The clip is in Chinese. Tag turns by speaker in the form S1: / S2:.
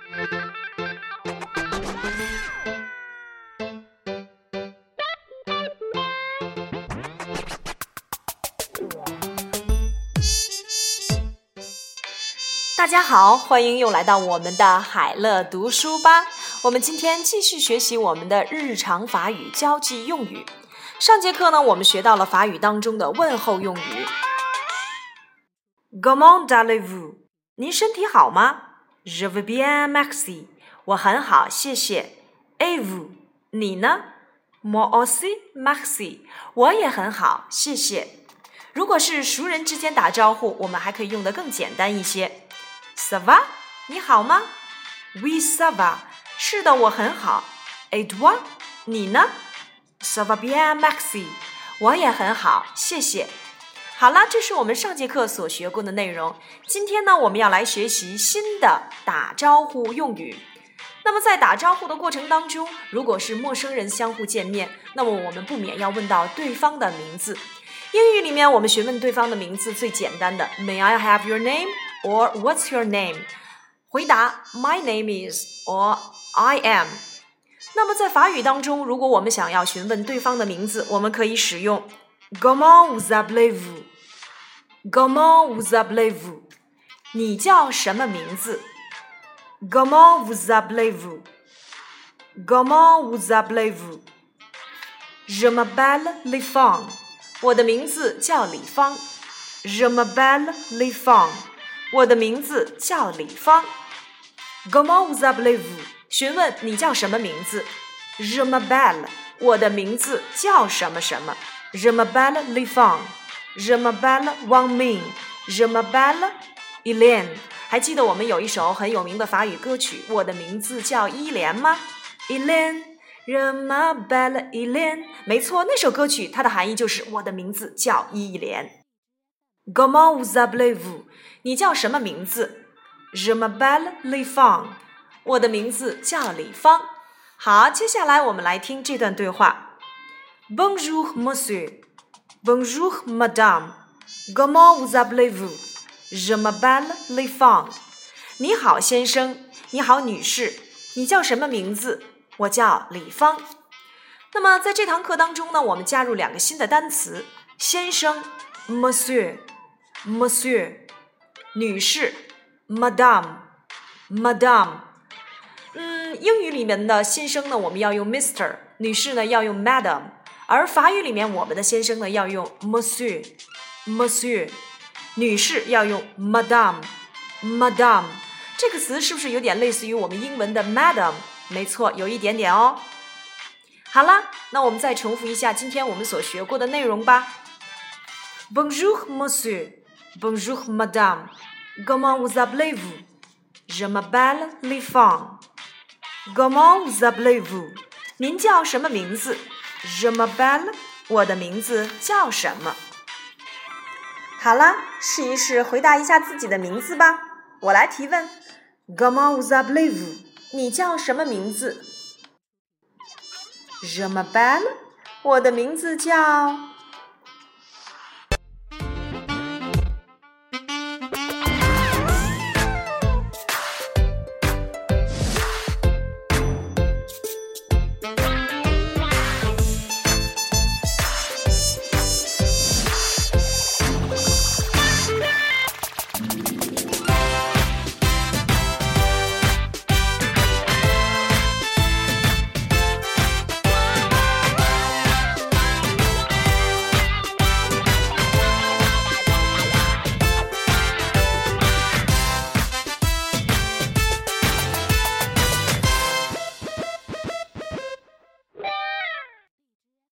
S1: 大家好，欢迎又来到我们的海乐读书吧。我们今天继续学习我们的日常法语交际用语。上节课呢，我们学到了法语当中的问候用语。Comment allez-vous？ 您身体好吗？ Je vais bien, merci。 我很好，谢谢。Et vous？ 你呢？ Moi aussi, merci。 我也很好，谢谢。如果是熟人之间打招呼，我们还可以用得更简单一些。Ça va？ 你好吗？ Oui, ça va。 是的，我很好。Et toi？ 你呢？ Ça va bien, merci。 我也很好，谢谢。好了，这是我们上节课所学过的内容。今天呢，我们要来学习新的打招呼用语。那么在打招呼的过程当中，如果是陌生人相互见面，那么我们不免要问到对方的名字。英语里面我们询问对方的名字最简单的 May I have your name? Or what's your name? 回答 My name is or I am。 那么在法语当中，如果我们想要询问对方的名字，我们可以使用 Comment vous appelez-vous? Comment vous appelez-vous? 你叫什么名字？ Comment vous appelez-vous? Comment vous appelez-vous? Je m'appelle Li Fang。 我的名字叫李芳。 Je m'appelle Li Fang。 我的名字叫李芳。 Comment vous appelez-vous? 询问你叫什么名字。 Je m'appelle。 我的名字叫什么什么。 Je m'appelle Li Fang。 Je m'appelle Wang Ming。 Je m'appelle Hélène。 还记得我们有一首很有名的法语歌曲我的名字叫伊莲吗？ Hélène Je m'appelle Hélène。 没错，那首歌曲它的含义就是我的名字叫伊莲。 Comment vous appelez-vous? 你叫什么名字？ Je m'appelle Li Fang。 我的名字叫李芳。好，接下来我们来听这段对话。 Bonjour monsieur。 Bonjour madame。 Comment vous appelez-vous? Je m'appelle Li Fang。 你好先生，你好女士，你叫什么名字？我叫李芳。那么在这堂课当中呢，我们加入两个新的单词，先生 Monsieur， 女士 Madame。 英语里面的先生呢，我们要用 Mr， 女士呢要用 Madam， 而法语里面我们的先生呢要用 Monsieur， 女士要用 Madame。 这个词是不是有点类似于我们英文的 Madam？ 没错，有一点点哦。好了，那我们再重复一下今天我们所学过的内容吧。 Bonjour monsieur。 Bonjour madame。 Comment vous appelez-vous? Je m'appelle Li Fang。 Comment vous appelez-vous? 您叫什么名字？ Je m'appelle。 我的名字叫什么？好了，试一试回答一下自己的名字吧。我来提问 Comment vous appelez-vous? 你叫什么名字？ Je m'appelle。 我的名字叫